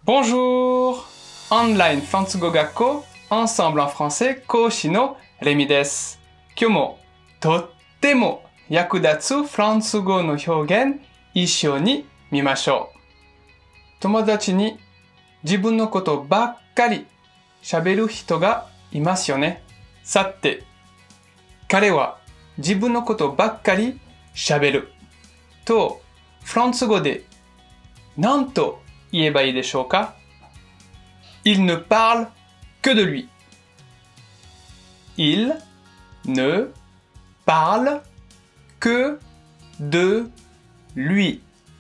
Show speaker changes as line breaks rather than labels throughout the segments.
Bonjour! Online フランス語学校 Ensemble en français 講師のレミです。今日もとっても役立つフランス語の表現一緒に見ましょう。友達に自分のことばっかり喋る人がいますよね。さて、彼は自分のことばっかり喋るとフランス語で何と言えばいいでしょうか？ Il ne parle que de lui. Il ne parle que de lui.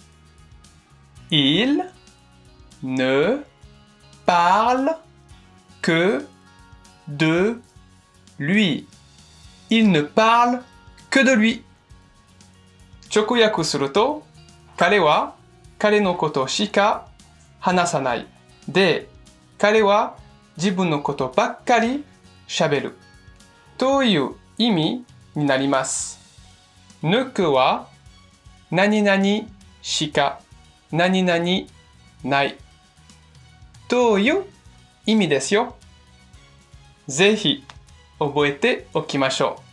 Il ne parle que de lui. Il ne parle que de lui. 直訳すると、彼は彼のことしか話さない。で、彼は自分のことばっかり喋る。という意味になります。ne que は何々しか何々ない。という意味ですよ。ぜひ覚えておきましょう。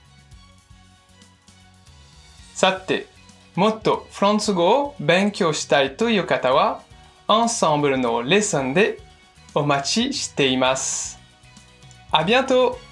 さて、もっとフランス語を勉強したいという方は、Ensembleのレッスンでお待ちしています。À bientôt!